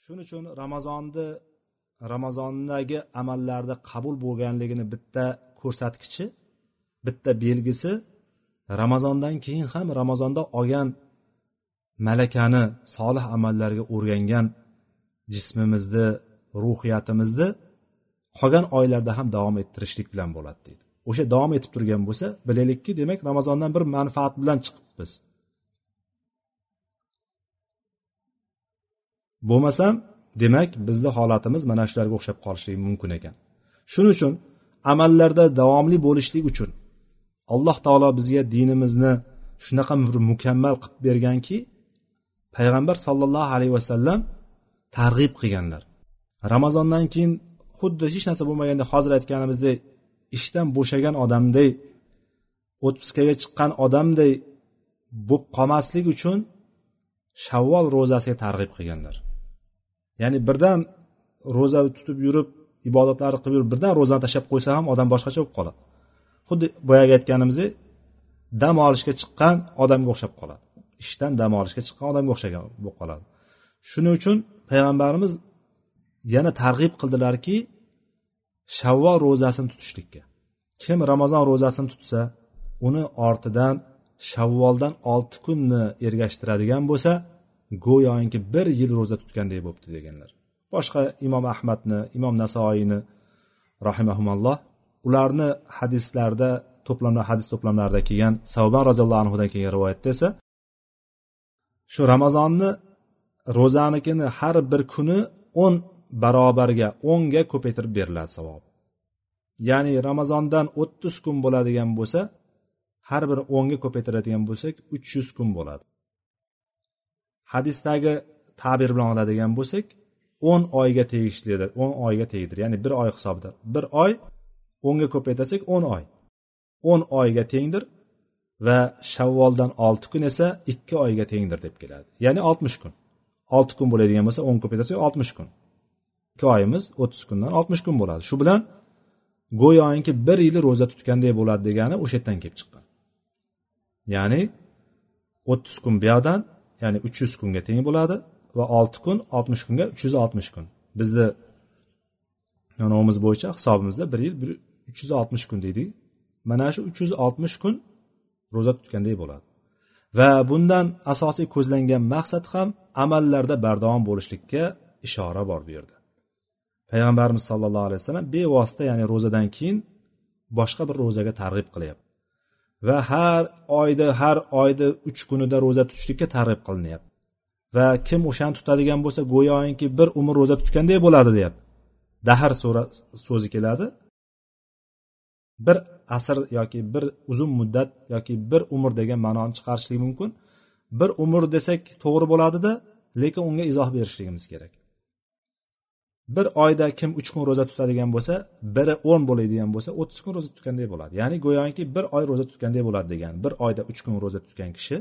Shuning uchun Ramazondagi amallarda qabul bo'lganligini bitta ko'rsatkichi, bitta belgisi Ramazondan keyin ham Ramazonda olgan malakani solih amallarga o'rgangan jismimizni, ruhiyatimizni qolgan oylarda ham davom ettirishlik bilan bo'ladi deydi. O'sha davom etib turgan bo'lsa, bilaylikki, demak Ramazondan bir manfaat bilan chiqibmiz. Bo'lmasam, demak bizning holatimiz mana shularga o'xshab qolishligi mumkin ekan. Shuning uchun amallarda davomli bo'lishlik uchun Alloh taolo bizga dinimizni shunaqa mukammal qilib berganki, payg'ambar sollallohu alayhi vasallam targ'ib qilganlar. Ramazondan keyin xuddi hech narsa bo'lmaganda hozir aytganimizdek ishdan bo'shagan odamday, otpuskaga chiqqan odamday bo'lib qolmaslik uchun Shavvol ro'zasiga targ'ib qilganlar. Ya'ni birdan ro'za tutib yurib, ibodatlarni qilib yurib, birdan ro'zani tashlab qo'ysa ham odam boshqacha bo'lib qoladi. Xuddi boyaga aytganimizdek, dam olishga chiqqan odamga o'xshab qoladi. Ishdan dam olishga chiqqan odamga o'xshagan bo'lib qoladi. Shuning uchun payg'ambarimiz yana targ'ib qildilarki, Shavvol ro'zasini tutishlikka. Kim Ramazon ro'zasini tutsa, uni ortidan Shavvoldan 6 kunni ergashtiradigan bo'lsa, go'yoki 1 yil ro'za tutgandek bo'libdi deganlar. Boshqa Imom Ahmadni, Imom Nasoiyni rahimahumulloh ularni hadislarda hadis to'plamlarida kelgan Savban roziyallohu anhudan kelgan rivoyatda esa shu Ramazonni ro'zanikini har bir kuni 10 barobarga, 10 ga ko'paytirib beriladi savob. Ya'ni Ramazondan 30 kun bo'ladigan bo'lsa, har bir 10 ga ko'paytiradigan bo'lsak 300 kun bo'ladi. Hadisdagi ta'bir bilan oladigan bo'lsak 10 oyga tegishlidir, 10 oyga tegdir. Ya'ni 1 oy hisobida. 1 oy 10 ga ko'paytirsak 10 oy. 10 oyga tengdir va Shavvoldan 6 kun esa 2 oyga tengdir deb keladi. Ya'ni 60 kun. 6 kun bo'ladigan bo'lsa 10 ko'paytirsak 60 kun. 2 oyimiz 30 kundan 60 kun bo'ladi. Shu bilan go'yoki 1 yil ro'za tutgandek bo'ladi degani o'sha yerdan kelib chiqqan. Ya'ni 30 kun bu yoqdan, ya'ni 300 kunga teng bo'ladi va 6 kun 60 kunga 360 kun. Bizda yo'nimiz bo'yicha hisobimizda 1 yil 360 kun deydik. Mana shu 360 kun ro'za tutgandek bo'ladi. Va bundan asosiy ko'zlangan maqsad ham amallarda bardavom bo'lishlikka ishora bor bu yerda. Payg'ambarimiz sollallohu alayhi vasallam bevosita, ya'ni ro'zadan keyin boshqa bir ro'zaga targ'ib qilyapti. Va har oyda 3 kunida ro'za tutishlikka targ'ib qilinyapti. Va kim o'shani tutadigan bo'lsa, go'yoki bir umr ro'za tutgandek bo'ladi deyapti. Dahr so'zi keladi. Bir asr yoki bir uzun muddat yoki bir umr degan ma'noni chiqarishlik mumkin. Bir umr desak to'g'ri bo'ladi-da, lekin unga izoh berishligimiz kerak. Bir oyda kim 3 kun ro'za tutadigan bo'lsa, biri 10 bo'ladigan bo'lsa, 30 kun ro'za tutgandek bo'ladi. Ya'ni go'yoki bir oy ro'za tutgandek bo'ladi degan. Bir oyda 3 kun ro'za tutgan kishi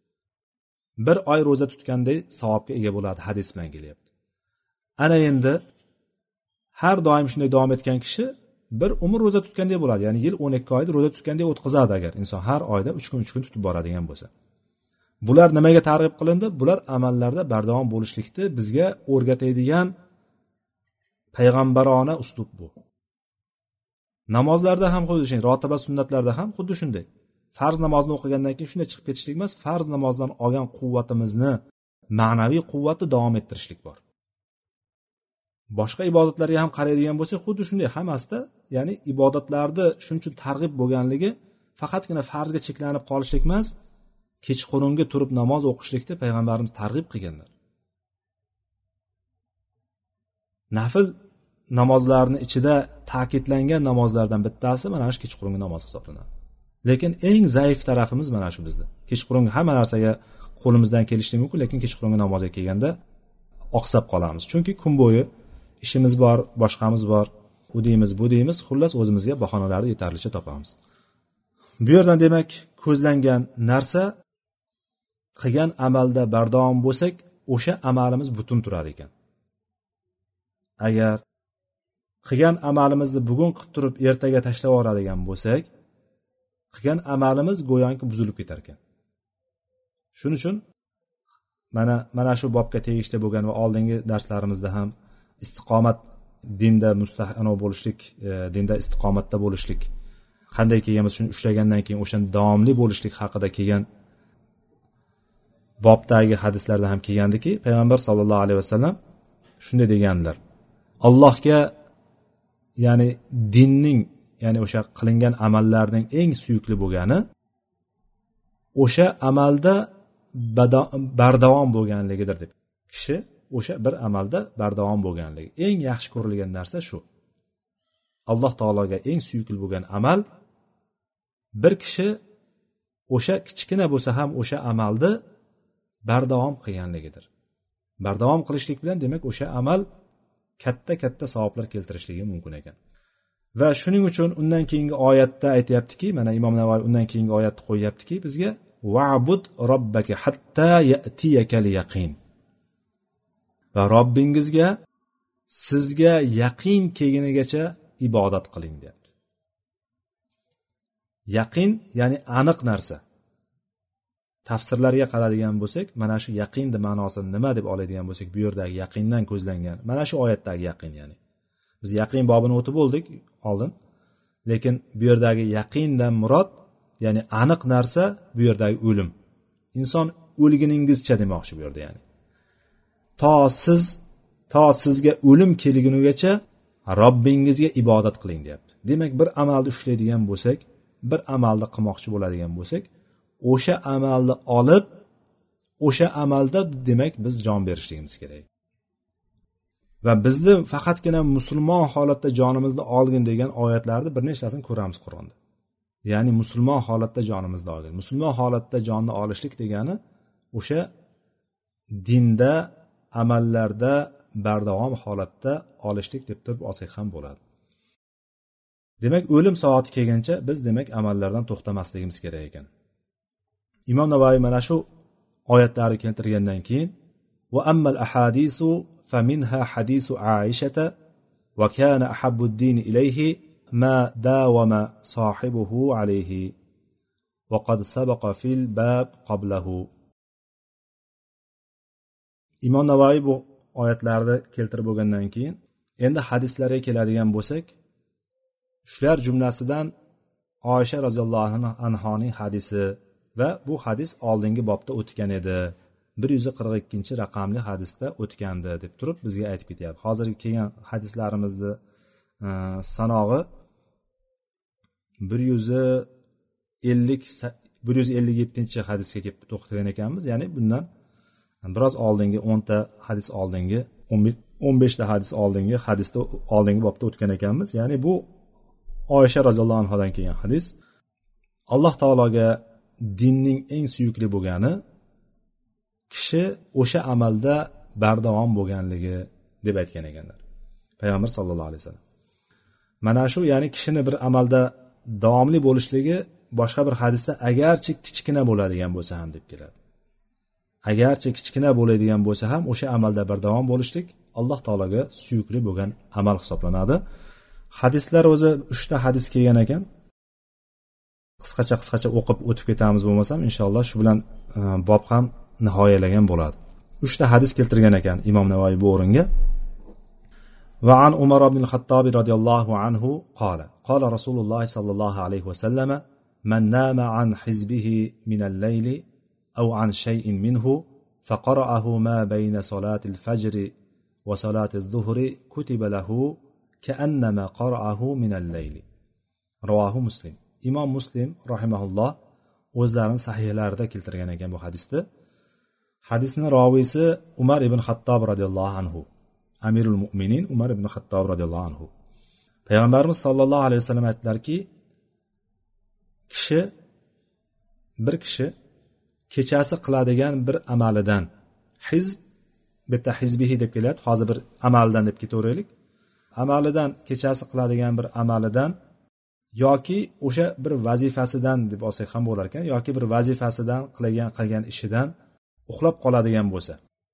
bir oy ro'za tutgandek savobga ega bo'ladi, hadis bilan kelyapti. Ana endi har doim shunday davom etgan kishi bir umr ro'za tutgandek bo'ladi. Ya'ni yil 12 oyda ro'za tutgandek o'tkazadi agar inson har oyda 3 kun tutib boradigan bo'lsa. Bular nimaga targ'ib qilindi? Bular amallarda bardavom bo'lishlikni bizga o'rgatadigan payg'ambarona uslub bu. Namozlarda ham xuddi shunday, rotiba sunnatlarda ham xuddi shunday. Farz namozni o'qigandan keyin shunday chiqib ketishlik emas, farz namozdan olgan quvvatimizni, ma'naviy quvvatni davom ettirishlik bor. Boshqa ibodatlarga ham qaraydigan bo'lsak, xuddi shunday hammasida, ya'ni ibodatlarda shuning uchun targ'ib bo'lganligi faqatgina farzga cheklanib qolishlik emas, kechqurungi turib namoz o'qishlikda payg'ambarimiz targ'ib qilganlar. Nafl namozlarning ichida ta'kidlangan namozlardan bittasi mana shu kechqurungi namoz hisoblanadi. Lekin eng zaif tarafimiz mana shu bizda. Kechqurungi hamma narsaga qo'limizdan kelishligi mumkin, lekin kechqurungi namozga kelganda oqsab qolamiz. Chunki kun bo'yi ishimiz bor, boshqamiz bor, u deymiz, bu deymiz, xullas o'zimizga bahonalarni yetarlicha topamiz. Bu yerdan demak ko'zlangan narsa qilgan amalda bardavom bo'lsak, o'sha amalimiz butun turar ekan. Agar qilgan amalimizni bugun qilib turib ertaga tashlab yuboradigan bo'lsak, qilgan amalimiz go'yoki buzilib ketar ekan. Shuning uchun mana shu bobga tegishli bo'lgan va oldingi darslarimizda ham istiqomat dinda mustahkam bo'lishlik, dinda istiqomatda bo'lishlik qanday kelganmiz, shuni ushlagandan keyin o'shanda davomli bo'lishlik haqida kelgan bobdagi hadislarda ham kelgandiki, payg'ambar sollallohu alayhi vasallam shunday deganlar: Allohga, ya'ni dinning, ya'ni o'sha qilingan amallarning eng suyukli bo'lgani o'sha amalda bardavom bo'lganligidir deb. Kishi o'sha bir amalda bardavom bo'lganligi, eng yaxshi ko'rilgan narsa shu. Alloh taologa eng suyukli bo'lgan amal bir kishi o'sha kichkina bo'lsa ham o'sha amalni bardavom qilganligidir. Bardavom qilishlik bilan demak o'sha amal katta savoblar keltirishligi mumkin ekan. Va shuning uchun undan keyingi oyatda aytayaptiki, mana Imom Navoiy undan keyingi oyatni qo'yyaptiki bizga: "Va'bud robbaka hatta ya'tiyakal yaqin." Va Robbingizga sizga yaqin kelgunigacha ibodat qiling deyapti. Yaqin ya'ni aniq narsa. Tafsirlarga qaradigan bo'lsak, mana shu yaqinni ma'nosi nima deb oladigan bo'lsak, bu yerdagi yaqindan ko'zlangan mana shu oyatdagi yaqin, ya'ni biz yaqin bobini o'tib bo'ldik oldin, lekin bu yerdagi yaqindan murod ya'ni aniq narsa bu yerdagi o'lim. Inson o'lguningizcha demoqchi bu yerda, ya'ni to sizga o'lim kelgunigacha Robbingizga ibodat qiling deyapti. Demak, bir amalni ushlaydigan bo'lsak, bir amalni qilmoqchi bo'ladigan bo'lsak, o'sha amalni olib, o'sha amalda demak biz jon berishligimiz kerak. Va bizni faqatgina musulmon holatda jonimizni olgin degan oyatlarni bir nechtasini ko'ramiz Qur'onda. Ya'ni musulmon holatda jonimizni olgin. Musulmon holatda jonni olishlik degani o'sha dinda, amallarda bardavom holatda olishlik deb turib olsak ham bo'ladi. Demak, o'lim soati kelguncha biz demak amallardan to'xtamasligimiz kerak ekan. Imom Navoiy mana shu oyatlarni keltirgandan keyin va ammal ahadisu faminha hadisu Aishata va kana ahabbu ad-din ilayhi ma dawama sahibuhu alayhi va qad sabaqa fil bab qablahu. Imom Navoiy bu oyatlarni keltirib bo'lgandan keyin endi hadislarga keladigan bo'lsak, shular jumlasidan Oysha roziyallohu anhoning hadisi va bu hadis oldingi bobda o'tgan edi. 142-raqamli hadisda o'tgandi deb turib bizga aytib ketyapti. Hozirgi kelgan hadislarimizni sanog'i 157-hadisga kelib to'xtagan ekanmiz. Ya'ni bundan biroz oldingi 10 ta hadis oldingi 15 ta hadis oldingi hadisda oldingi bobda o'tgan ekanmiz. Ya'ni bu Oysha roziyallohu anhodan kelgan hadis. Alloh taologa dinning eng suyukli bo'lgani kishi o'sha amalda bardavom bo'lganligi deb aytgan ekanlar payg'ambar sollallohu alayhi vasallam. Mana shu, ya'ni kishini bir amalda davomli bo'lishligi boshqa bir hadisda agarchi kichkina bo'ladigan bo'lsa ham deb keladi. Agarchi kichkina bo'ladigan bo'lsa ham o'sha amalda bardavom bo'lishlik Alloh taologa suyukli bo'lgan amal hisoblanadi. Hadislar o'zi 3 ta hadis kelgan ekan. Qisqacha o'qib o'tib ketamiz bo'lmasam, inshaalloh shu bilan bob ham nihoyalagan bo'ladi. 3 ta hadis keltirgan ekan Imom Navoiy bu o'ringa. Va an Umar ibn al-Khattab radhiyallohu anhu qala Rasululloh sallallohu alayhi va sallam: "Man nama an hizbihi min al-layli aw an shay'in minhu faqara'ahu ma bayna salati al-fajr wa salati adh-dhuhri kutiba lahu ka'annama qara'ahu min al-layli." Rivohi Muslim. Imom Muslim rahimahulloh o'zlarining sahihlarida keltirgan ekan bu hadisni. Hadisning roviysi Umar ibn Xattob radhiyallohu anhu, Amirul Mu'minin Umar ibn Xattob radhiyallohu anhu. Payg'ambarimiz sollallohu alayhi vasallam aytdilarki, bir kishi kechasi qiladigan bir amalidan, hizb bitta hizbihi deb kelyapti, hozir bir amaldan deb ketaveraylik. Amalidan, kechasi qiladigan bir amalidan yoki o'sha bir vazifasidan deb olsak ham bo'lar ekan, yoki bir vazifasidan qilgan ishidan uxlab qoladigan bo'lsa,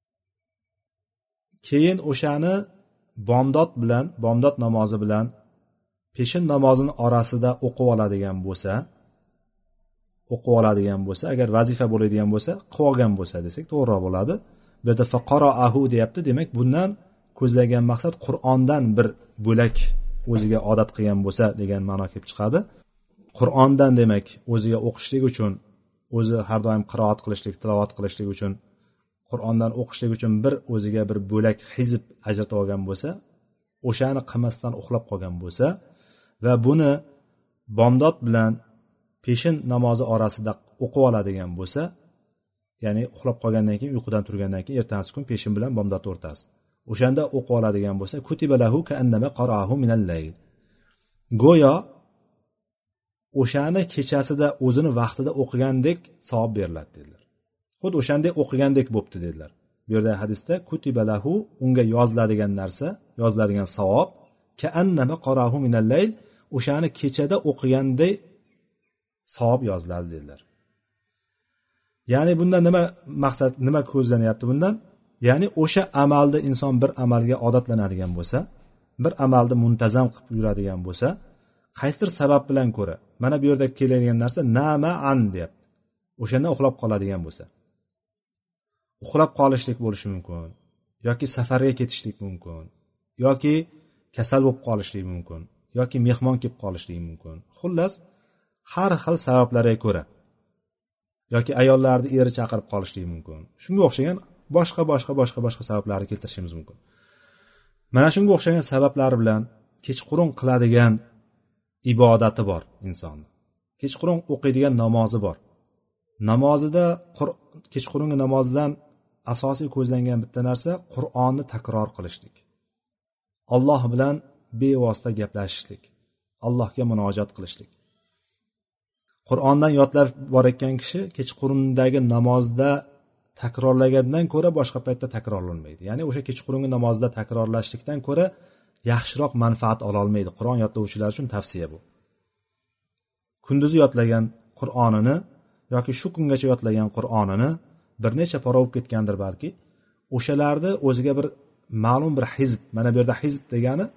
keyin o'shani bomdod namozi bilan peshin namozini orasida o'qib oladigan bo'lsa, o'qib oladigan bo'lsa, agar vazifa bo'ladigan bo'lsa qilib olgan bo'lsa desak to'g'riroq bo'ladi. Bu yerda faqaraahu deyapti, demak bundan ko'zlagan maqsad Qur'ondan bir bo'lak o'ziga odat qilgan bo'lsa degan ma'no kelib chiqadi. Qur'ondan demak o'ziga o'qishlik uchun, o'zi har doim qiroat qilishlik, tilovat qilishlik uchun, Qur'ondan o'qishlik uchun bir o'ziga bir bo'lak hizb ajratib olgan bo'lsa, o'shani qilmasdan uxlab qolgan bo'lsa va buni bomdod bilan peshin namozi orasida o'qib oladigan bo'lsa, ya'ni uxlab qolgandan keyin, uyqudan turgandan keyin ertasi kun peshin bilan bomdod o'rtasi, o'shanda o'qib oladigan bo'lsa, kutiba lahu ka'annama qara'ahu minal layl, go'yo o'shani kechasida o'zini vaqtida o'qigandek savob beriladi dedilar. Xuddi o'shanday o'qigandek bo'pti dedilar. Bu yerda hadisda kutiba lahu, unga yoziladigan narsa, yoziladigan savob ka'annama qara'ahu minal layl, o'shani kechada o'qiganday savob yoziladi dedilar. Ya'ni bundan nima maqsad, nima ko'zlanyapti bundan? Ya'ni o'sha amalda inson bir amalga odatlanadigan bo'lsa, bir amalni muntazam qilib yuradigan bo'lsa, qaysidir sabab bilan ko'ra, mana bu yerda keladigan narsa nama'an deyapti. O'shanda uxlab qoladigan bo'lsa, uxlab qolishlik bo'lishi mumkin, yoki safarga ketishlik mumkin, yoki kasal bo'lib qolishlik mumkin, yoki mehmon kelib qolishlik mumkin. Xullas, har xil sabablarga ko'ra, yoki ayollarni eri chaqirib qolishlik mumkin. Shunga o'xshagan boshqa sabablarni keltirishimiz mumkin. Mana shunga o'xshagan sabablar bilan kechqurun qiladigan ibodati bor insonni. Kechqurun o'qiydigan namozi bor. Namozida kechqurungi namozdan asosiy ko'zlangan bitta narsa Qur'onni takror qilishlik. Alloh bilan bevosita gaplashishlik, Allohga munojat qilishlik. Qur'ondan yodlab borayotgan kishi kechqurundagi namozda takrorlagandan ko'ra boshqa paytda takrorlanmaydi. Ya'ni o'sha kechqurungi namozda takrorlashlikdan ko'ra yaxshiroq manfaat ola olmaydi. Qur'on yodlovchilar uchun tavsiya bu. Kunduzi yodlagan Qur'onini yoki shu kungacha yodlagan Qur'onini bir necha pora o'qib ketgandir balki, o'shalarni o'ziga bir ma'lum bir hizb, mana bu yerda hizb degani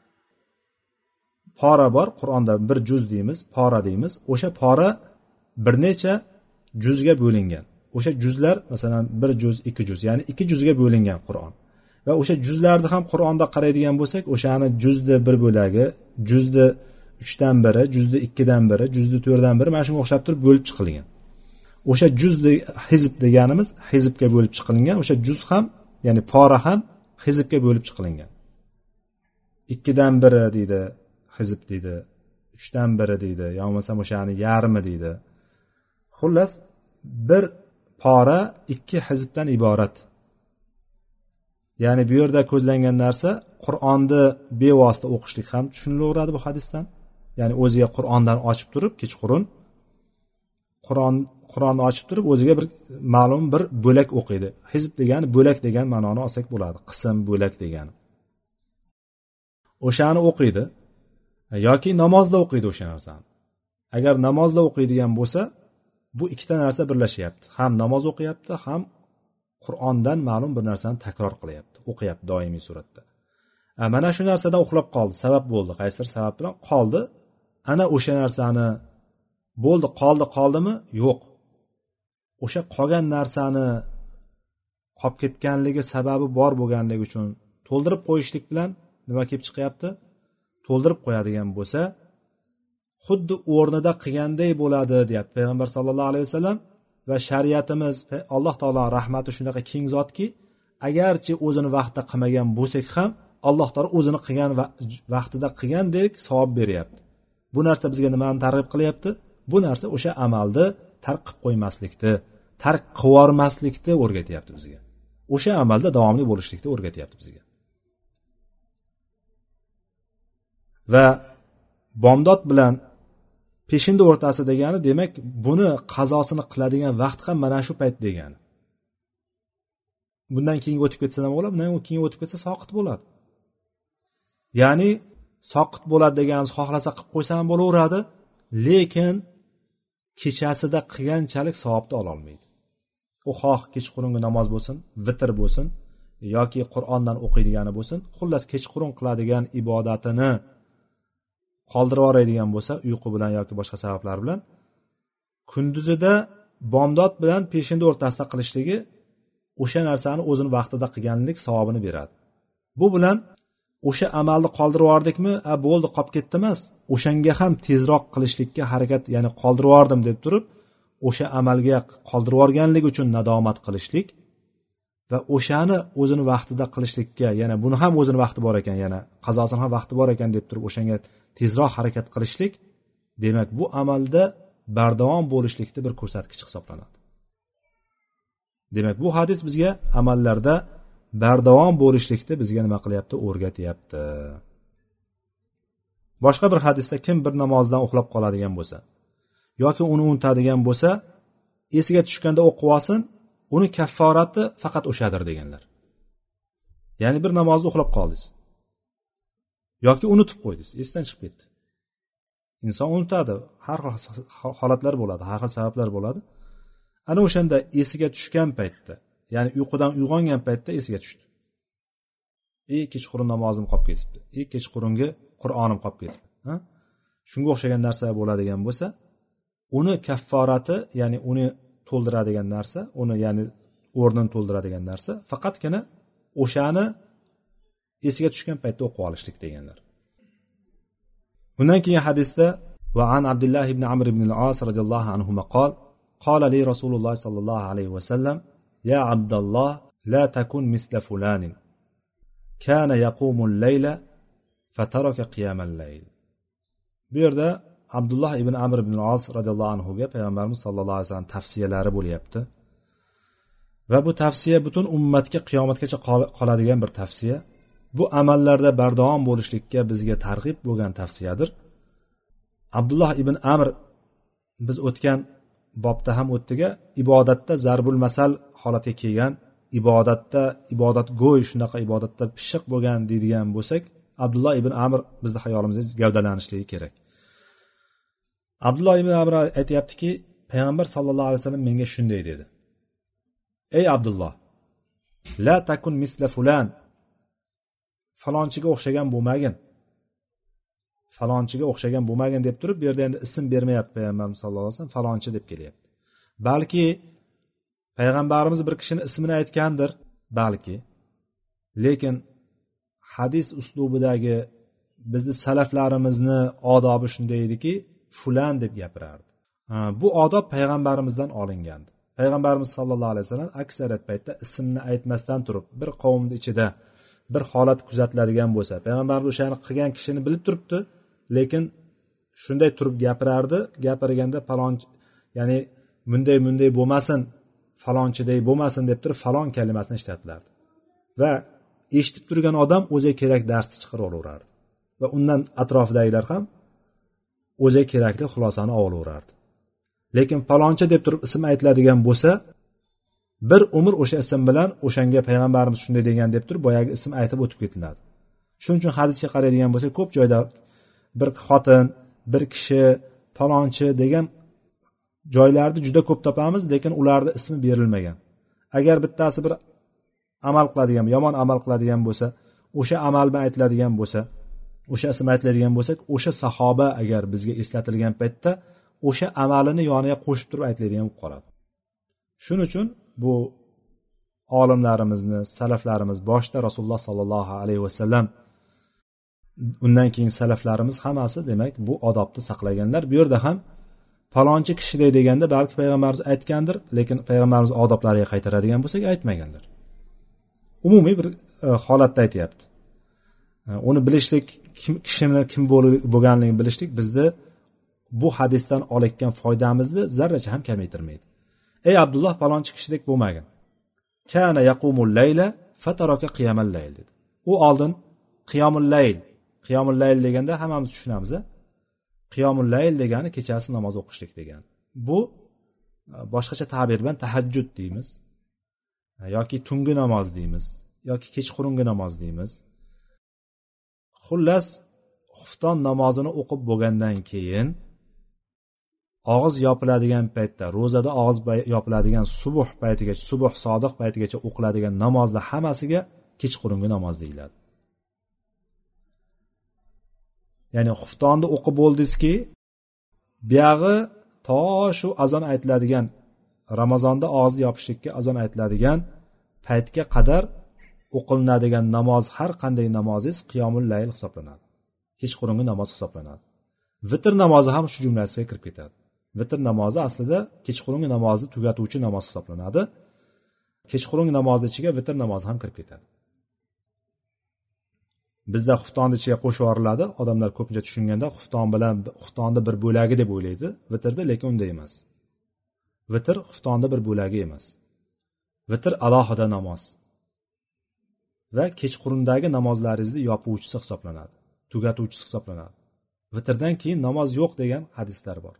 pora bor, Qur'onda bir juz deymiz, pora deymiz. O'sha pora bir necha juzga bo'lingan. O'sha juzlar masalan bir juz, ikki juz, ya'ni ikki juzga bo'lingan Qur'on. Va o'sha juzlarni ham Qur'onda qaraydigan bo'lsak, o'shani juzni bir bo'lagi, juzni 3dan biri, juzni 2dan biri, juzni 4dan biri mana shunga o'xshab turib bo'lib chiqilgan. O'sha juzni hizb deganimiz hizbga bo'lib chiqilgan. O'sha juz ham, ya'ni pora ham hizbga bo'lib chiqilgan. 2dan biri deydi, hizb deydi, 3dan biri deydi, yo bo'lmasa o'shani yarmi deydi. Xullas, bir pora 2 hizbdan iborat. Ya'ni bu yerda ko'zlangan narsa Qur'onni bevosita o'qishlik ham tushunilaveradi bu hadisdan. Ya'ni o'ziga Qur'ondan ochib turib, kechqurun Qur'onni ochib turib o'ziga bir ma'lum bir bo'lak o'qiydi. Hizb degani bo'lak degan ma'noni olsak bo'ladi. Qism, bo'lak degani. O'shani o'qiydi yoki namozda o'qiydi o'sha narsani. Agar namozda o'qiydigan bo'lsa, bu ikkita narsa birlashyapti. Ham namoz o'qiyapti, ham Qur'ondan ma'lum bir narsani takror qilyapti, o'qiyapti doimiy suratda. Mana shu narsadan uxlab qoldi, sabab bo'ldi, qaysidir sabab bilan qoldi. Ana o'sha narsani bo'ldi, qoldimi? Yo'q. O'sha qolgan narsani qolib ketganligi sababi bor bo'lganligi uchun to'ldirib qo'yishlik bilan nima kelib chiqyapti? To'ldirib qo'yadigan bo'lsa, xuddi o'rnida qilganday bo'ladi, deyapti payg'ambar sollallohu alayhi vasallam. Va shariatimiz, Alloh taoloning rahmati shunaqa keng zotki, agarchi o'zini vaqtida qilmagan bo'lsak ham, Alloh taolo o'zini qilgan vaqtida qilgandek savob beryapti. Bu narsa bizga nimani targ'ib qilyapti? Bu narsa o'sha amalni tark qilib qo'ymaslikni, tark qilvormaslikni o'rgatyapti bizga. O'sha amalda davomli bo'lishlikni o'rgatyapti bizga. Va bomdod bilan peshinda o'rtasi degani, demak, buni qazosini qiladigan vaqt ham mana shu payt degani. Bundan keyin o'tib ketsa nima bo'ladi? Bundan keyin o'tib ketsa soqit bo'ladi. Ya'ni soqit bo'ladi deganimiz xohlasa qilib qo'ysa ham bo'laveradi, lekin kechasida qilganchalik savobni ola olmaydi. U xoh kechqurungi namoz bo'lsin, vitr bo'lsin yoki Qur'ondan o'qiydigani bo'lsin, xullas kechqurun qiladigan ibodatini qoldirib yuboradigan bo'lsa, uyqu bilan yoki boshqa sabablar bilan, kunduzida bomdod bilan peshinda o'rtasida qilishligi o'sha narsani o'zini vaqtida qilganlik savobini beradi. Bu bilan o'sha amalni qoldirib yubordikmi, bo'ldi qolib ketdi emas, o'shanga ham tezroq qilishlikka harakat, ya'ni qoldirib yubordim deb turib o'sha amalga qoldirib yuborganlik uchun nadomat qilishlik va o'shani o'zini vaqtida qilishlikka, yana buni ham o'zini vaqti bor ekan, yana qazosini ham vaqti bor ekan deb turib o'shanga tezroq harakat qilishlik, demak bu amalda bardavom bo'lishlikda bir ko'rsatkich hisoblanadi. Demak bu hadis bizga amallarda bardavom bo'lishlikda bizga nima qilyapti? O'rgatyapti. Boshqa bir hadisda kim bir namozdan uxlab qoladigan bo'lsa yoki uni unutadigan bo'lsa, esiga tushganda o'qib olsin, uni kafforati faqat o'shadir deganlar. Ya'ni bir namozni uxlab qoldingiz yoki unutib qo'ydingiz, esdan chiqib ketdi. Inson unutadi, har xil holatlar bo'ladi, har xil sabablar bo'ladi. Ana o'shanda esiga tushgan paytda, ya'ni uyqudan uyg'ongan paytda esiga tushdi. Kechqurun namozim qolib ketibdi. Kechqurungi Qur'onim qolib ketibdi. Shunga o'xshagan narsa bo'ladigan bo'lsa, uni kafforati, ya'ni uni to'ldiradigan narsa, uni ya'ni o'rnini to'ldiradigan narsa faqatgina o'shani esiga tushgan paytda o'qib olishlik deganlar. Bundan keyin hadisda va an Abdullah ibn Amr ibn al-As radhiyallohu anhu qol qala li Rasululloh sallallohu alayhi va sallam ya Abdullah la takun misla fulanin kana yaqumu al-layla fataraka qiyam al-layl. Bu yerda Abdullah ibn Amr ibn al-As radhiyallohu anhu ga payg'ambarimiz sallallohu alayhi vasallam tavsiyalari bo'lyapti. Va bu tavsiya butun ummatga qiyomatgacha qoladigan bir tavsiya. Bu amallarda bardavom bo'lishlikka bizga targ'ib bo'lgan tavsiyadir. Abdullah ibn Amr biz o'tgan bobda ham o'tdiga, ibodatda zarbul masal holatga kelgan, ibodatda ibodatgo'y, shunaqa ibodatda pishiq bo'lgan deydigan bo'lsak, Abdullah ibn Amr bizning hayolimizda gavdalanishligi kerak. Abdullah ibn Amr aytayaptiki, payg'ambar sallallohu alayhi vasallam menga shunday dedi: ey Abdullah, la takun misla fulan, falonchiga o'xshagan bo'lmagin, falonchiga o'xshagan bo'lmagin deb turib, bu yerda endi ism bermayapti payg'ambarimiz sallallohu alayhi vasallam, falonchi deb kelyapti. Balki payg'ambarimiz bir kishini ismini aytgandir, balki, lekin hadis uslubidagi bizni salaflarimizni odobi shunday ediki, fulan deb gapirardi. Bu odob payg'ambarimizdan olingandi. Payg'ambarimiz sallallohu alayhi vasallam aksariyat paytda ismni aytmasdan turib, bir qavmning ichida bir holat kuzatiladigan bo'lsa, payg'ambarimiz o'shani qilgan kishini bilib turibdi, lekin shunday turib gapirardi, gapirganda falonchi, ya'ni bunday bo'lmasin, falonchiday bo'lmasin deb turib falon kalimasini ishlatilardi. Va eshitib turgan odam o'ziga kerak darsni chiqarib olaverardi va undan atrofidagilar ham o'ziga kerakli xulosani olaverardi. Lekin falonchi deb turib ism aytiladigan bo'lsa, bir umr o'sha ism bilan o'shanga payg'ambarimiz shunday degan deb turib boyagi ism aytib o'tib ketiladi. Shuning uchun hadisga qaraydigan bo'lsak, ko'p joyda bir xotin, bir kishi, falonchi degan joylarni juda ko'p topamiz, lekin ularning ismi berilmagan. Agar bittasi bir amal qiladigan, yomon amal qiladigan bo'lsa, o'sha amal bilan aytiladigan bo'lsa, o'sha ism aytiladigan bo'lsak, o'sha sahoba agar bizga eslatilgan paytda o'sha amalini yoniga qo'shib turib aytiladigan bo'lib qoladi. Shuning uchun bu olimlarimizni, salaflarimiz boshda Rasululloh sallallohu alayhi vasallam, undan keyin salaflarimiz hammasi demak bu odobni saqlaganlar. Bu yerda ham falonchi kishiday deganda balki payg'ambarimiz aytgandir, lekin payg'ambarimiz odoblariga qaytaradigan bo'lsak aytmaganlar. Umumiy bir holatda aytayapti. Uni bilishlik, kishini kim bo'lganligini bilishlik bizni bu hadisdan olayotgan foydamizni zarracha ham kamaytirmaydi. Ey Abdullah, falonchi kishidek bo'lmagin. Kana yaqumul layla fataraka qiyamal layl dedi. U oldin qiyamul layl deganda hammamiz tushunamiz. Qiyamul layl degani kechasi namoz o'qishlik degani. Bu boshqacha ta'bir bilan tahajjud deymiz, yoki tungi namoz deymiz, yoki kechqurungi namoz deymiz. Xullas, xufton namozini o'qib bo'lgandan keyin og'iz yopiladigan paytda, ro'zada og'iz yopiladigan subuh paytigacha, subuh sodiq paytigacha o'qiladigan namozlar hammasiga kechqurungi namoz deyiladi. Ya'ni xuftonni o'qib bo'ldingizki, buyog'i to shu azon aytiladigan ramazonda og'izni yopishlikka azon aytiladigan paytga qadar o'qilinadigan namoz, har qanday namozingiz qiyomul layl hisoblanadi, kechqurungi namoz hisoblanadi. Vitr namozi ham shu jumlasiga kirib ketadi. Vitr namozi aslida kechqurungi namozni tugatuvchi namoz hisoblanadi. Kechqurungi namoz ichiga vitr namozi ham kirib ketadi. Bizda xuftonni ichiga qo'shib yuboriladi. Odamlar ko'pincha tushunganda xufton bilan xuftonni bir bo'lagi deb o'ylaydi vitrni, lekin unday emas. Vitr xuftonni bir bo'lagi emas. Vitr alohida namoz va kechqurundagi namozlaringizni yopuvchisi hisoblanadi, tugatuvchisi hisoblanadi. Vitrdan keyin namoz yo'q degan hadislar bor.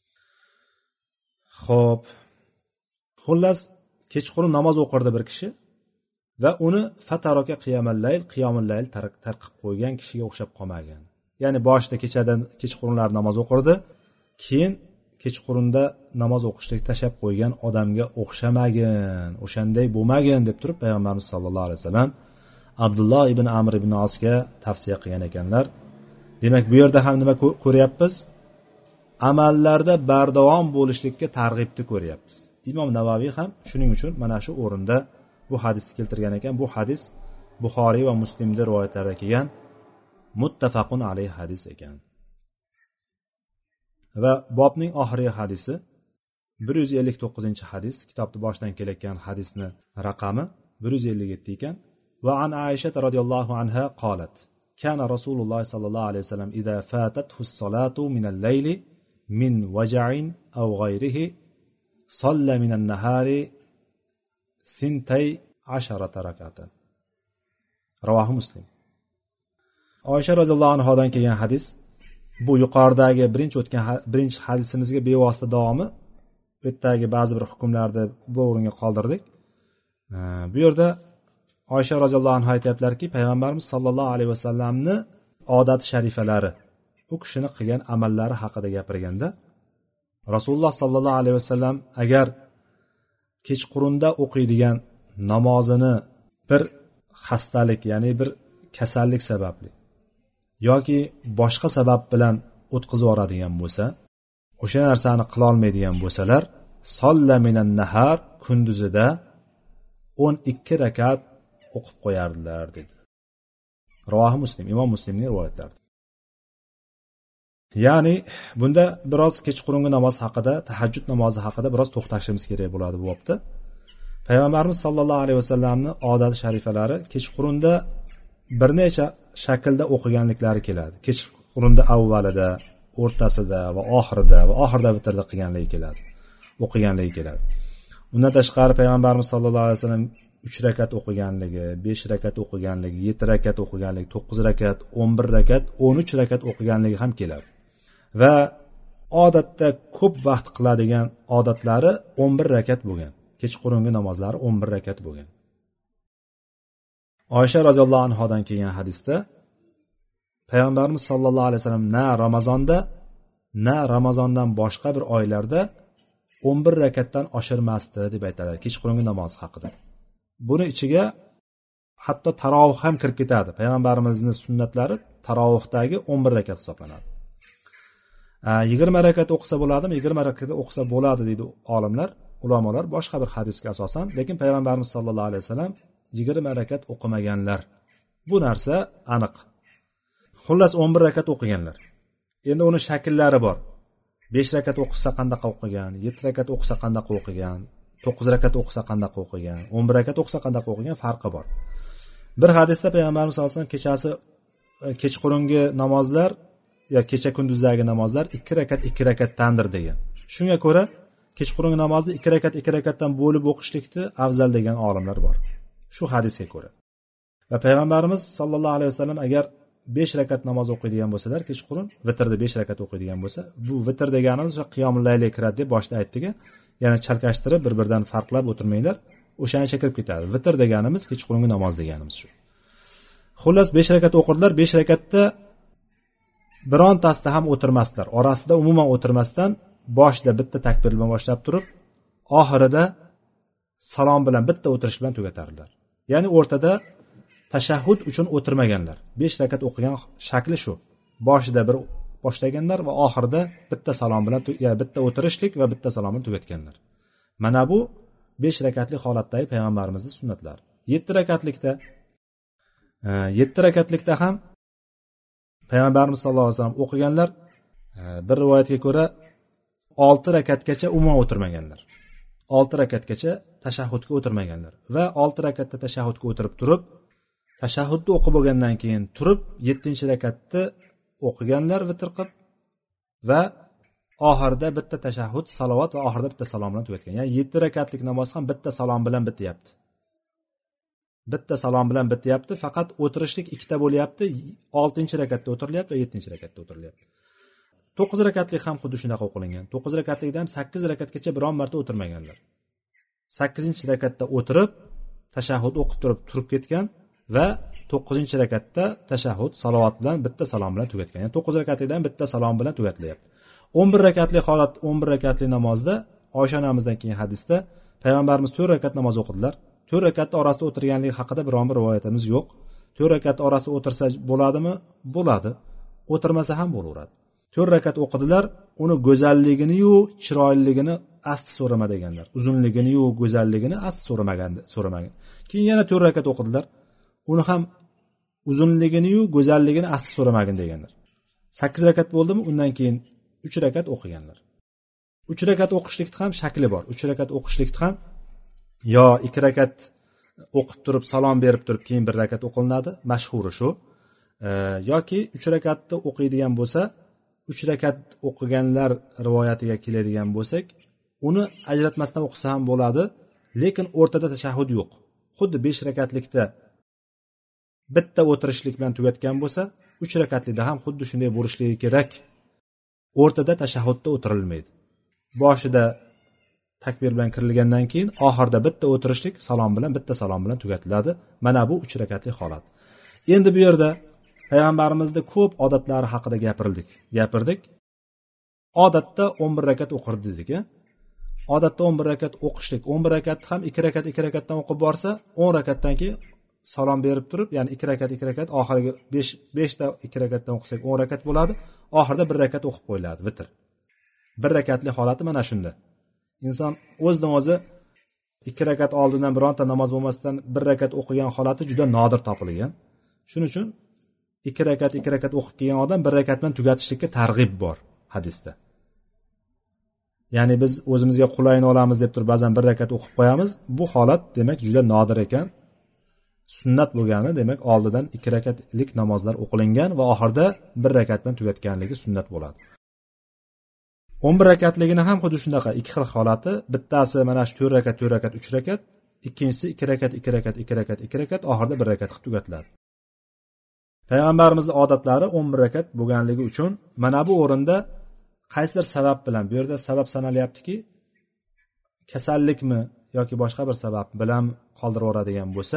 Xo'p. Xullas, kechqurun namoz o'qirdi bir kishi va uni fataroka qiyomul layl tarqib qo'ygan kishiga o'xshab qolmagan. Ya'ni boshida kechqurunlar namoz o'qirdi, keyin kechqurunda namoz o'qishni tashlab qo'ygan odamga o'xshamagin, o'shanday bo'lmagin deb turib payg'ambarimiz sollallohu alayhi vasallam Abdulloh ibn Amr ibn Osga tavsiya qilgan ekanlar. Demak, bu yerda ham nima ko'ryapmiz? Amallarda bardavom bo'lishlikka targ'ibni ko'ryapmiz. Imom Navaviy ham shuning uchun mana shu o'rinda bu hadisni keltirgan ekan. Bu hadis Buxoriy va Muslimda rivoyatlarda kelgan muttafaqun alayh hadis ekan. Va bobning oxirgi hadisi 159-hadis, kitobning boshidan kelayotgan hadisni raqami 157 ekan. Va an Aisha radhiyallohu anha qolat: "Kana Rasululloh sallallohu alayhi vasallam idza fatathu as-salatu min al-layli min waja'in aw ghayrihi salla min an-nahari sintay 10 rak'atan." Ravohi Muslim. Oysha radhiyallohu anhodan kelgan hadis. Bu yuqoridagi birinchi hadisimizga bevosita davomi. Bu yerdagi ba'zi bir hukmlarni bu o'ringa qoldirdik. Bu yerda Oysha radhiyallohu anha aytayaplarki, payg'ambarimiz sollallohu alayhi vasallamni odat sharifalari, u kishini qilgan amallari haqida gapirganda, Rasululloh sollallohu alayhi vasallam agar kechqurunda o'qiydigan namozini bir xastalik, ya'ni bir kasallik sababli yoki boshqa sabab bilan o'tkazib yuboradigan bo'lsa, o'sha narsani qila olmaydigan bo'lsalar, solla minan nahar, kunduzida 12 rakat o'qib qo'yardilar dedi. Ravohi Muslim, Imom Muslimning rivoyatlari. Ya'ni bunda biroz kechqurungi namoz haqida, tahajjud namozi haqida biroz to'xtashimiz kerak bo'ladi bu vaqtda. Payg'ambarimiz sollallohu alayhi vasallamning odat sharifalari kechqurunda bir necha shaklda o'qiganliklari keladi. Kechqurunda avvalida, o'rtasida va oxirida vitrda qilganligi keladi. O'qiganligi keladi. Undan tashqari payg'ambarimiz sollallohu alayhi vasallam 3 rakat o'qiganligi, 5 rakat o'qiganligi, 7 rakat o'qiganligi, 9 rakat, 11 rakat, 13 rakat o'qiganligi ham keladi. Va odatda ko'p vaqt qiladigan odatlari 11 rakat bo'lgan. Kechqurungi namozlari 11 rakat bo'lgan. Oysha roziyallohu anhodan kelgan hadisda payg'ambarimiz sollallohu alayhi vasallam na Ramazondan boshqa bir oylarda 11 rakatdan oshirmasdi deb aytadi kechqurungi namoz haqida. Buni ichiga hatto tarovih ham kirib ketadi. Payg'ambarimizning sunnatlari tarovihdagi 11 rakat hisoblanadi. 20 rakat o'qisa bo'ladimi? 20 rakat o'qisa bo'ladi deydi olimlar, ulamolar boshqa bir hadisga asosan, lekin payg'ambarimiz sollallohu alayhi vasallam 20 rakat o'qimaganlar. Bu narsa aniq. Xullas 11 rakat o'qiganlar. Endi uni shakllari bor. 5 rakat o'qisa qandaqa o'qigan, 7 rakat o'qisa qandaqa o'qigan, 9 rakat o'qisa qandaqa o'qigan, 11 rakat o'qisa qandaqa o'qigan farqi bor. Bir hadisda payg'ambarimiz sollallohu alayhi vasallam kechqurungi namozlar yo kecha kunduzdagi namozlar 2 rakatdandir degan. Shunga ko'ra kechqurungi namozni 2 rakatdan bo'lib o'qishlikni afzal degan olimlar bor. Shu hadisga ko'ra. Va payg'ambarimiz sollallohu alayhi vasallam agar 5 rakat namoz o'qiydigan bo'lsalar, kechqurun vitrda 5 rakat o'qiydigan bo'lsa, bu vitr deganimiz o'sha qiyomul layl kiradi deb boshida aytdik. Ya'ni chalkashtirib bir-biridan farqlab o'tirmanglar, o'shancha kirib ketadi. Vitr deganimiz kechqurungi namoz deganimiz shu. Xullas 5 rakat o'qirdilar, 5 rakatda birontasida ham o'tirmasdilar. Orasida umuman o'tirmasdan boshida bitta takbir bilan boshlab turib, oxirida salom bilan bitta o'tirish bilan tugatardilar. Ya'ni o'rtada tashahhud uchun o'tirmaganlar. 5 rakat o'qigan shakli shu. Boshida bir boshlaganlar va oxirida bitta salom bilan bitta o'tirishlik va bitta salom bilan tugatganlar. Mana bu 5 rakatli holatdagi payg'ambarimizning sunnatlari. 7 rakatlikda ham payg'ambarimiz sollallohu alayhi vasallam o'qiganlar bir rivoyatga ko'ra 6 rakatgacha umuman o'tirmaganlar. 6 rakatgacha tashahhudga o'tirmaganlar va 6 rakatda tashahhudga o'tirib turib, tashahhudni o'qib bo'lgandan keyin turib 7-rakatni o'qiganlar vitr qilib va oxirida bitta tashahhud, salovat va oxirida bitta salom bilan tugatgan. Ya'ni 7 rakatlik namoz ham bitta salom bilan bityapti. Bitta salom bilan bityapti, faqat o'tirishlik ikkita bo'lyapti. 6-rakatda o'tirilyapti va 7-rakatda o'tirilyapti. 9 rakatlik ham xuddi shunaqa o'qilingan. 9 rakatlikda ham 8 rakatgacha biron marta o'tirmaganlar. 8-rakatda o'tirib tashahhud o'qib turib ketgan va 9-rakatda tashahhud, salovat bilan bitta salom bilan tugatgan. Ya'ni 9 rakatlikdan bitta salom bilan tugatilyapti. 11 rakatli holat, 11 rakatli namozda Oysha onamizdan keyin hadisda payg'ambarimiz 4 rakat namoz o'qidilar. 4 rakatning orasida o'tirganligi haqida biron bir rivoyatimiz yo'q. 4 rakat orasida o'tirsa bo'ladimi? Bo'ladi. O'tirmasa ham bo'laveradi. 4 rakat o'qidilar, uni go'zalligini-yu, chiroyliligini asti so'rama deganlar. Uzunligini-yu, go'zalligini asti so'ramagan. Keyin yana 4 rakat o'qidilar. Uni ham uzunligini-yu, go'zalligini asti so'ramagin deganlar. 8 rakat bo'ldimi? Undan keyin 3 rakat o'qiganlar. 3 rakat o'qishlikda ham shakli bor. 3 rakat o'qishlikda ham yo 2 rakat o'qib turib salom berib turib keyin 1 rakat o'qilinadi, mashhuri shu. Yoki 3 rakatni o'qiydigan bo'lsa, 3 rakat o'qiganlar rivoyatiga keladigan bo'lsak, uni ajratmasdan o'qisa ham bo'ladi, lekin o'rtada tashahhud yo'q. Xuddi 5 rakatlikda bitta o'tirishlik bilan tugatgan bo'lsa, 3 rakatlikda ham xuddi shunday bo'lishligi kerak. O'rtada tashahhudda o'tirilmaydi. Boshida takbir bilan kirilgandan keyin oxirida bitta o'tirishlik salom bilan bitta salom bilan tugatiladi. Mana bu 3 rakatli holat. Endi bu yerda payg'ambarimizda ko'p odatlari haqida gapirdik. Odatda 11 rakat o'qirdi dedik. Odatda 11 rakat o'qishlik, 11 rakat ham 2 rakatdan o'qib borsa, 10 rakatdan keyin salom berib turib, ya'ni 2 rakat oxirgi 5 ta 2 rakatdan o'qisak 10 rakat bo'ladi. Oxirida 1 rakat o'qib qo'yiladi vitr. 1 rakatli holati mana shunda. Inson o'zidan o'zi 2 rakat oldindan bironta namoz bo'lmasdan 1 rakat o'qigan holati juda nodir topilgan. Shuning uchun 2 rakat o'qib kelgan odam 1 rakat bilan tugatishlikka targ'ib bor hadisda. Ya'ni biz o'zimizga qulayini olamiz deb turib ba'zan 1 rakat o'qib qo'yamiz. Bu holat demak juda nodir ekan. Sunnat bo'lgani demak oldidan 2 rakatlik namozlar o'qilingan va oxirida 1 rakat bilan tugatganligi sunnat bo'ladi. 11 rakatligini ham xuddi shunaqa ikki xil holati. Bittasi mana shu 4 rakat, 3 rakat, ikkinchisi 2 rakat, oxirida 1 rakat qilib tugatiladi. Payg'ambarimizning odatlari 11 rakat bo'lganligi uchun mana bu o'rinda qaysidir sabab bilan, bu yerda sabab sanalyaptiki, kasallikmi yoki boshqa bir sabab bilan qoldirib yuboradigan bo'lsa,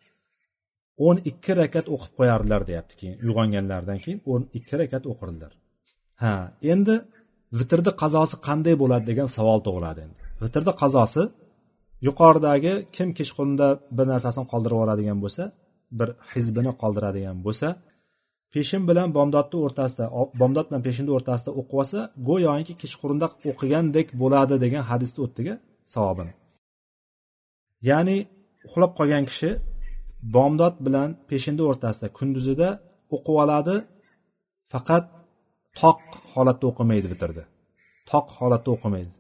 12 rakat o'qib qo'yardilar deyapti. Keyin uyg'onganlardan keyin 12 rakat o'qirdilar. Endi vitrni qazosi qanday bo'ladi degan savol tug'iladi endi. Vitrni qazosi yuqoridagi kim kechqurunda bir narsasini qoldirib yuboradigan bo'lsa, bir hizbini qoldiradigan bo'lsa, peshin bilan bomdodning o'rtasida, bomdod bilan peshinning o'rtasida o'qib olsa, go'yoki kechqurunda o'qigandek bo'ladi degan hadisda o'tdiga savobini. Ya'ni uxlab qolgan kishi bomdod bilan peshinning o'rtasida kunduzida o'qib oladi, faqat toq holatda o'qimaydi vitrda. Toq holatda o'qimaydi.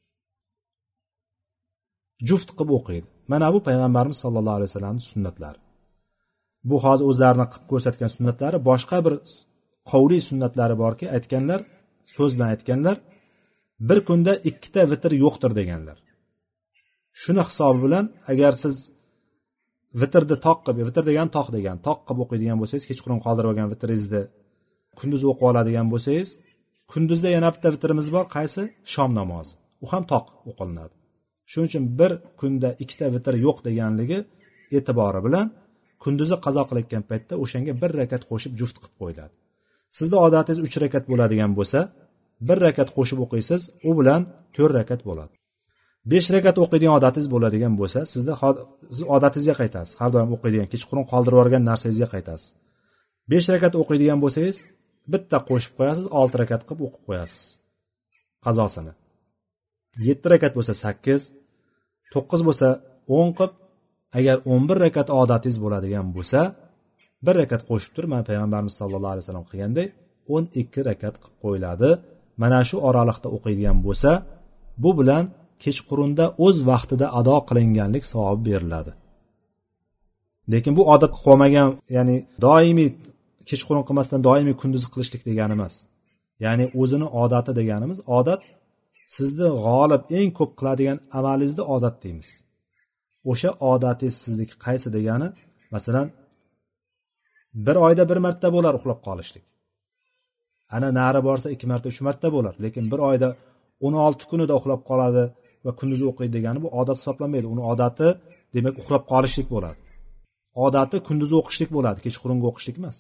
Juft qilib o'qiydi. Mana bu payg'ambarimiz sollallohu alayhi vasallamning sunnatlari. Bu hozir o'zlarini qilib ko'rsatgan sunnatlari, boshqa bir qavli sunnatlari borki, aytganlar, so'z bilan aytganlar, bir kunda 2 ta vitr yo'qdir deganlar. Shuni hisobi bilan agar siz vitrni toq qilib, vitr degan toq qilib o'qiydigan bo'lsangiz, kechqurun qoldirib olgan vitringizni kunduz o'qib oladigan bo'lsangiz, kunduzda yana bitta vitrimiz bor, qaysi? Shom namozi. U ham toq o'qilinadi. Shuning uchun bir kunda 2 ta vitr yo'q deganligi e'tibori bilan kunduzi qazo qilayotgan paytda o'shanga 1 rakat qo'shib juft qilib qo'yiladi. Sizda odatingiz 3 rakat bo'ladigan bo'lsa, 1 rakat qo'shib o'qiysiz, u bilan 4 rakat bo'ladi. 5 rakat o'qiydigan odatingiz bo'ladigan bo'lsa, siz odatingizga qaytasiz. Har doim o'qiydigan, kechqurun qoldirib yuborgan narsangizga qaytasiz. 5 rakat o'qiydigan bo'lsangiz, bitta qo'shib qo'yasiz, 6 rakat qilib o'qib qo'yasiz qazosini. 7 rakat bo'lsa 8, 9 bo'lsa 10 qilib, agar 11 rakat odatingiz bo'ladigan bo'lsa, 1 rakat qo'shib turib, mana payg'ambarimiz sollallohu alayhi vasallam qilganday 12 rakat qilib qo'yiladi. Mana shu oraliqda o'qiydigan bo'lsa, bu bilan kechqurunda o'z vaqtida ado qilinganlik savobi beriladi. Lekin bu odat qolmagan, ya'ni doimiy kechqurun qilmasdan doimiy kunduz qilishlik degani emas. Ya'ni o'zini odati deganimiz, odat sizni g'olib eng ko'p qiladigan amalingizni odat deymiz. O'sha odatingiz sizniki qaysi degani, masalan, bir oyda bir marta bo'lar uxlab qolishlik. Ana nari borsa 2 marta, 3 marta bo'lar, lekin bir oyda 16 kunida uxlab qoladi va kunduz o'qiydi degani bu odat hisoblanmaydi. Uni odati demak uxlab qolishlik bo'ladi. Odati kunduz o'qishlik bo'ladi, kechqurungi o'qishlik emas.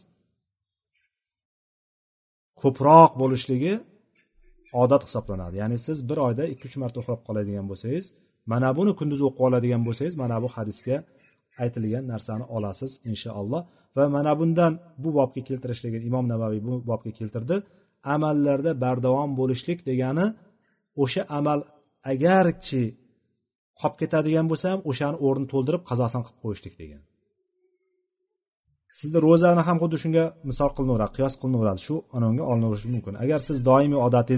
Ko'proq bo'lishligi odat hisoblanadi. Ya'ni siz bir oyda 2-3 marta uxlab qoladigan bo'lsangiz, mana buni kunduz o'qib oladigan bo'lsangiz, mana bu hadisga aytilgan narsani olasiz inshaalloh. Va mana bundan bu bobga keltirishligin Imom Navaviy bu bobga keltirdi. Amallarda bardavom bo'lishlik degani o'sha amal agarchi qolib ketadigan bo'lsa ham o'shani o'rnini to'ldirib qazosini qilib qo'yishlik degan. Sizda ro'zani ham xuddi shunga misol qilinaveradi, qiyos qilinaveradi. Shu anonga olinaverishi mumkin. Agar siz doimiy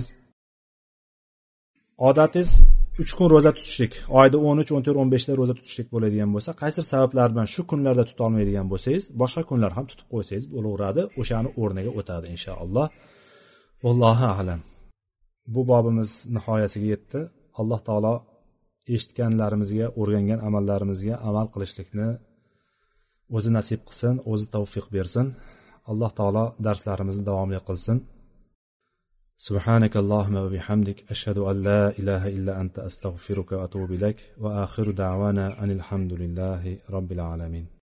odatingiz 3 kun ro'za tutishlik, oyda 13, 14, 15 ta ro'za tutishlik bo'ladigan bo'lsa, qaysi sabablar bilan shu kunlarda tuta olmaydigan bo'lsangiz, boshqa kunlar ham tutib qo'ysangiz bo'laveradi. O'shani o'rniga o'tadi inshaalloh. Vallohu a'lam. Bu bobimiz nihoyasiga yetdi. Alloh taolo eshitganlarimizga, o'rgangan amallarimizga amal qilishlikni o'zi nasib qilsin, o'zi tavfiq bersin. Alloh taolo darslarimizni davomli qilsin. Subhanakallahumma va bihamdik ashhadu an la ilaha illa anta astaghfiruka va atubu ilaik va akhiru da'wana anil hamdulillahi robbil alamin.